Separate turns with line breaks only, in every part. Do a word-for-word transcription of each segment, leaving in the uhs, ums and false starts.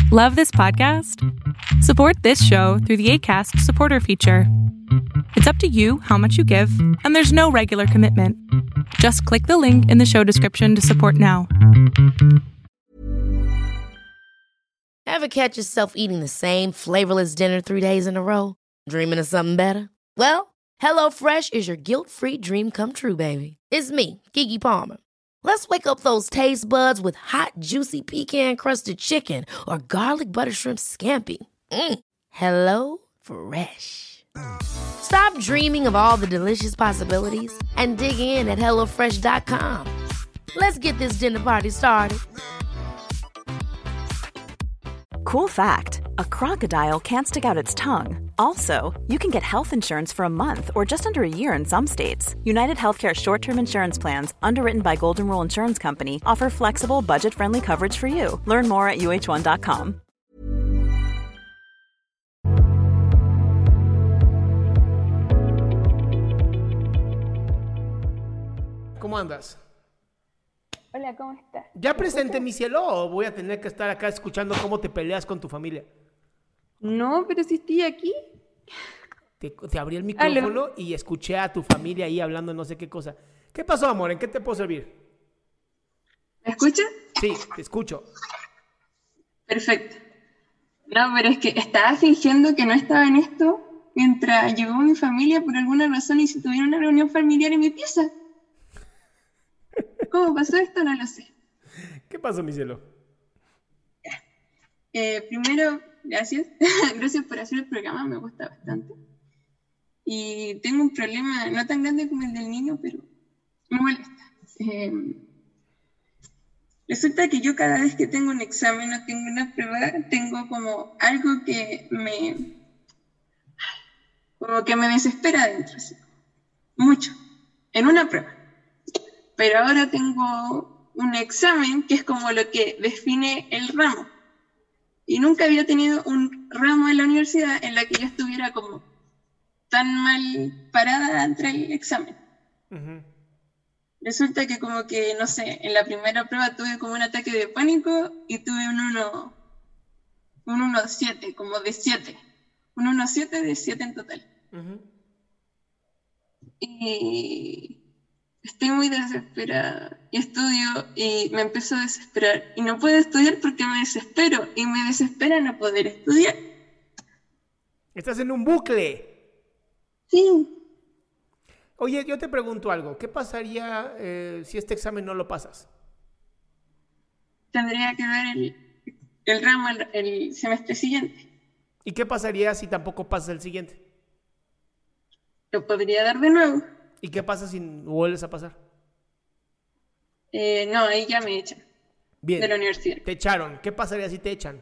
Love this podcast? Support this show through the Acast supporter feature. It's up to you how much you give, and there's no regular commitment. Just click the link in the show description to support now.
Ever catch yourself eating the same flavorless dinner three days in a row? Dreaming of something better? Well, HelloFresh is your guilt-free dream come true, baby. It's me, Keke Palmer. Let's wake up those taste buds with hot, juicy pecan-crusted chicken or garlic butter shrimp scampi. Mm. Hello Fresh. Stop dreaming of all the delicious possibilities and dig in at hello fresh dot com. Let's get this dinner party started.
Cool fact, a crocodile can't stick out its tongue. Also, you can get health insurance for a month or just under a year in some states. United Healthcare short-term insurance plans, underwritten by Golden Rule Insurance Company, offer flexible, budget-friendly coverage for you. Learn more at u h one dot com.
¿Cómo andas?
Hola, ¿cómo estás?
¿Ya presenté mi cielo o voy a tener que estar acá escuchando cómo te peleas con tu familia?
No, pero si estoy aquí.
Te, te abrí el micrófono ¿Aló? Y escuché a tu familia ahí hablando no sé qué cosa. ¿Qué pasó, amor? ¿En qué te puedo servir?
¿Me escuchas?
Sí, te escucho.
Perfecto. No, pero es que estaba fingiendo que no estaba en esto mientras llegó mi familia por alguna razón y si tuviera una reunión familiar en mi pieza. ¿Cómo pasó esto? No lo sé.
¿Qué pasó, mi cielo?
Eh, primero, gracias. Gracias por hacer el programa, me gusta bastante. Y tengo un problema no tan grande como el del niño, pero me molesta. Eh, resulta que yo cada vez que tengo un examen o tengo una prueba, tengo como algo que me... como que me desespera adentro, así. Mucho. En una prueba. Pero ahora tengo un examen que es como lo que define el ramo. Y nunca había tenido un ramo en la universidad en la que yo estuviera como tan mal parada entre el examen. Uh-huh. Resulta que como que, no sé, en la primera prueba tuve como un ataque de pánico y tuve un uno, un uno siete, como de siete. Un uno siete de siete en total. Uh-huh. Y... estoy muy desesperada y estudio y me empiezo a desesperar y no puedo estudiar porque me desespero y me desespera no poder estudiar.
Estás en un bucle.
Sí.
Oye, yo te pregunto algo. ¿Qué pasaría eh, si este examen no lo pasas?
Tendría que dar el, el ramo el, el semestre siguiente.
¿Y qué pasaría si tampoco pasas el siguiente?
Lo podría dar de nuevo.
¿Y qué pasa si vuelves a pasar?
Eh, no, ahí ya me echan.
Bien.
De la universidad.
Te echaron. ¿Qué pasaría si te echan?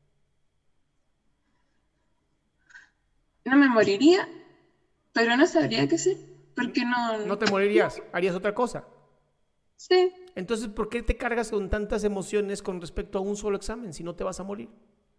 No me moriría, pero no sabría qué hacer. Porque no...
¿No te morirías? ¿Harías otra cosa?
Sí.
Entonces, ¿por qué te cargas con tantas emociones con respecto a un solo examen si no te vas a morir?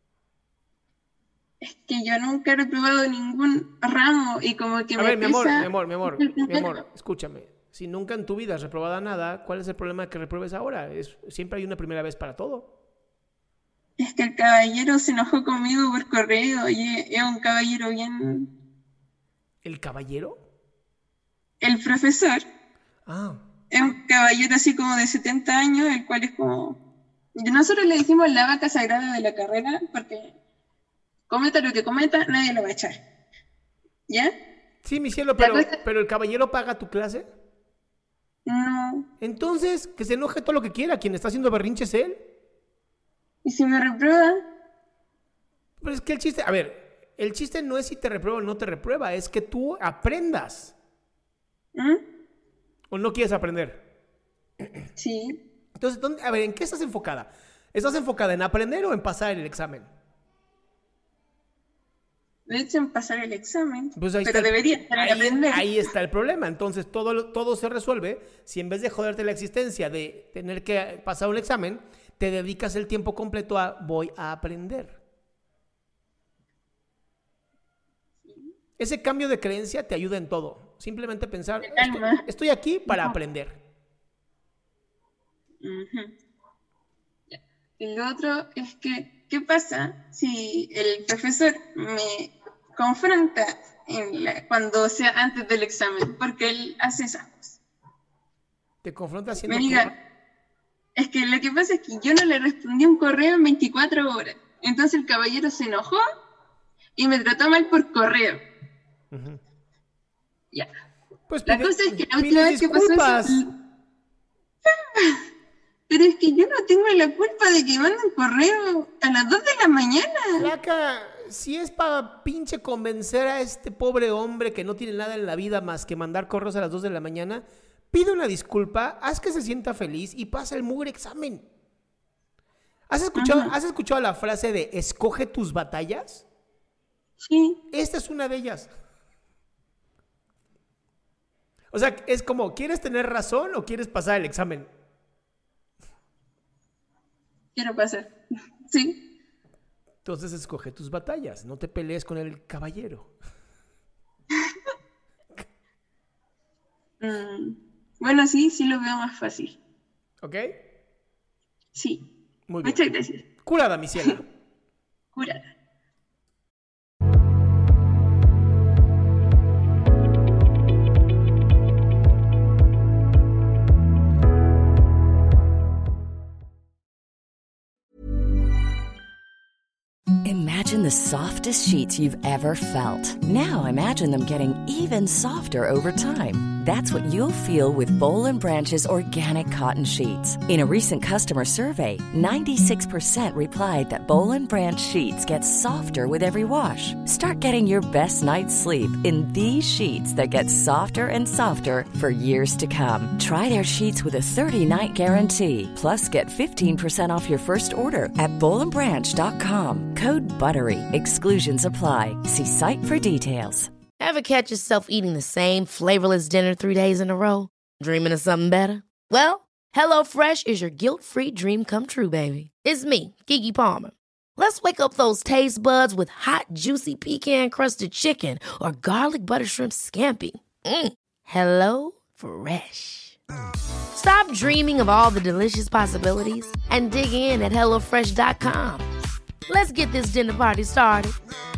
Es que yo nunca he reprobado ningún ramo y como que
a
me
ver, mi amor,
pesa...
mi amor, mi amor, mi amor, escúchame. Si nunca en tu vida has reprobado nada, ¿cuál es el problema de que repruebes ahora? Es, siempre hay una primera vez para todo.
Es que el caballero se enojó conmigo por correo y es un caballero bien...
¿El caballero?
El profesor.
Ah.
Es un caballero así como de setenta años, el cual es como... Nosotros le decimos la vaca sagrada de la carrera porque... cometa lo que cometa, nadie lo va a echar. ¿Ya?
Sí, mi cielo, pero, cosa... pero ¿el caballero paga tu clase?
No.
Entonces, que se enoje todo lo que quiera. Quien está haciendo berrinches es él.
¿Y si me reprueba?
Pero es que el chiste... A ver, el chiste no es si te reprueba o no te reprueba. Es que tú aprendas.
¿Mm?
¿O no quieres aprender?
Sí.
Entonces, ¿dónde, a ver, ¿en qué estás enfocada? ¿Estás enfocada en aprender o en pasar el examen?
De hecho, en pasar el examen,
pues ahí
pero
está,
debería estar
ahí,
aprender.
Ahí está el problema. Entonces, todo, todo se resuelve si en vez de joderte la existencia de tener que pasar un examen, te dedicas el tiempo completo a voy a aprender. Ese cambio de creencia te ayuda en todo. Simplemente pensar, estoy, estoy aquí para uh-huh. aprender.
Uh-huh. Y lo otro es que ¿qué pasa si el profesor me confronta en la, cuando sea antes del examen? Porque él hace esas cosas.
¿Te confronta haciendo
Me diga, es que lo que pasa es que yo no le respondí un correo en veinticuatro horas. Entonces el caballero se enojó y me trató mal por correo. Uh-huh. Ya.
Pues
la
pide,
cosa es que la última vez que pasó eso... Pero es que yo no tengo la culpa de que manden correo a las dos de la mañana.
Flaca, si es para pinche convencer a este pobre hombre que no tiene nada en la vida más que mandar correos a las dos de la mañana, pide una disculpa, haz que se sienta feliz y pasa el mugre examen. ¿Has escuchado, uh-huh. ¿Has escuchado la frase de escoge tus batallas?
Sí.
Esta es una de ellas. O sea, es como, ¿quieres tener razón o quieres pasar el examen?
Quiero pasar, sí.
Entonces escoge tus batallas, no te pelees con el caballero.
mm, bueno, sí, sí lo veo más fácil.
¿Ok?
Sí.
Muy bien.
Muchas gracias.
Curada, mi ciela.
Curada.
Imagine the softest sheets you've ever felt. Now imagine them getting even softer over time. That's what you'll feel with Boll and Branch's organic cotton sheets. In a recent customer survey, ninety-six percent replied that Boll and Branch sheets get softer with every wash. Start getting your best night's sleep in these sheets that get softer and softer for years to come. Try their sheets with a thirty-night guarantee. Plus, get fifteen percent off your first order at boll and branch dot com. Code BUTTERY. Exclusions apply. See site for details.
Ever catch yourself eating the same flavorless dinner three days in a row? Dreaming of something better? Well, HelloFresh is your guilt-free dream come true, baby. It's me, Keke Palmer. Let's wake up those taste buds with hot, juicy pecan-crusted chicken or garlic butter shrimp scampi. Mm. Hello Fresh. Stop dreaming of all the delicious possibilities and dig in at hello fresh dot com. Let's get this dinner party started.